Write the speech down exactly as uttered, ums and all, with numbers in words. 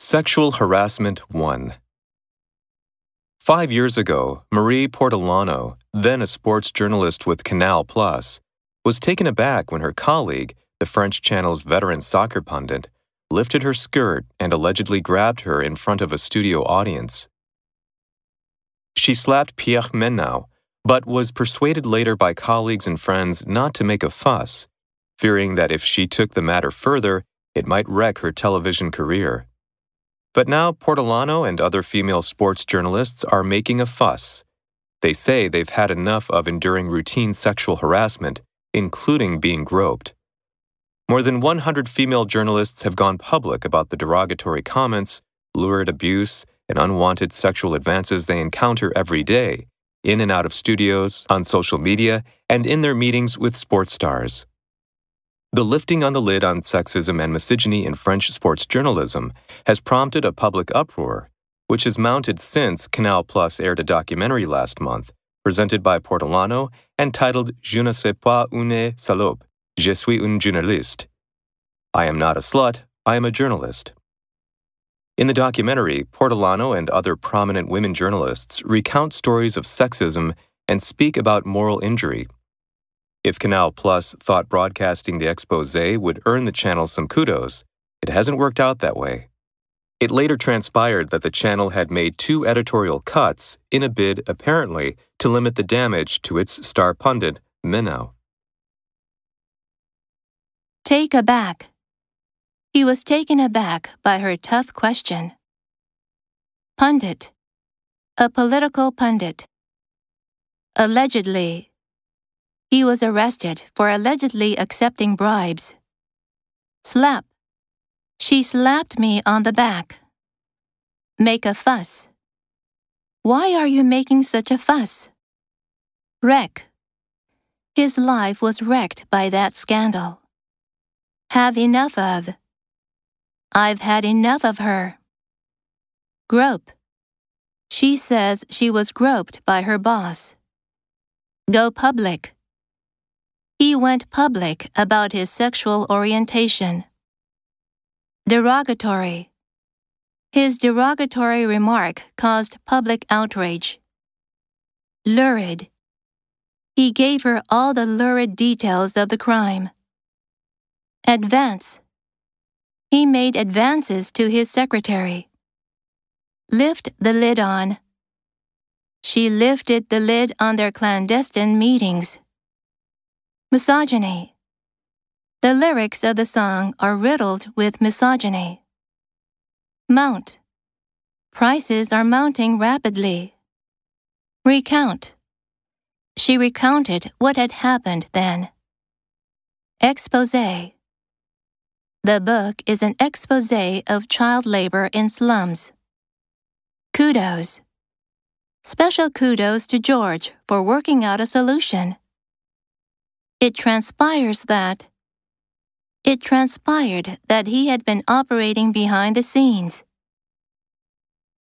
Sexual Harassment one. Five years ago, Marie Portolano, then a sports journalist with Canal Plus, was taken aback when her colleague, the French channel's veteran soccer pundit, lifted her skirt and allegedly grabbed her in front of a studio audience. She slapped Pierre Menau, but was persuaded later by colleagues and friends not to make a fuss, fearing that if she took the matter further, it might wreck her television career. But now Portolano and other female sports journalists are making a fuss. They say they've had enough of enduring routine sexual harassment, including being groped. More than one hundred female journalists have gone public about the derogatory comments, lurid abuse, and unwanted sexual advances they encounter every day, in and out of studios, on social media, and in their meetings with sports stars. The lifting on the lid on sexism and misogyny in French sports journalism has prompted a public uproar, which has mounted since Canal Plus aired a documentary last month, presented by Portolano and titled Je ne suis pas une salope, je suis une journaliste. I am not a slut, I am a journalist. In the documentary, Portolano and other prominent women journalists recount stories of sexism and speak about moral injury. If Canal Plus thought broadcasting the exposé would earn the channel some kudos, it hasn't worked out that way. It later transpired that the channel had made two editorial cuts in a bid, apparently, to limit the damage to its star pundit, Menau. Take aback. He was taken aback by her tough question. Pundit. A political pundit. Allegedly. He was arrested for allegedly accepting bribes. Slap. She slapped me on the back. Make a fuss. Why are you making such a fuss? Wreck. His life was wrecked by that scandal. Have enough of. I've had enough of her. Grope. She says she was groped by her boss. Go public. He went public about his sexual orientation. Derogatory. His derogatory remark caused public outrage. Lurid. He gave her all the lurid details of the crime. Advance. He made advances to his secretary. Lift the lid on. She lifted the lid on their clandestine meetings. Misogyny. The lyrics of the song are riddled with misogyny. Mount. Prices are mounting rapidly. Recount. She recounted what had happened then. Exposé. The book is an exposé of child labor in slums. Kudos. Special kudos to George for working out a solution. It transpires that It transpired that he had been operating behind the scenes.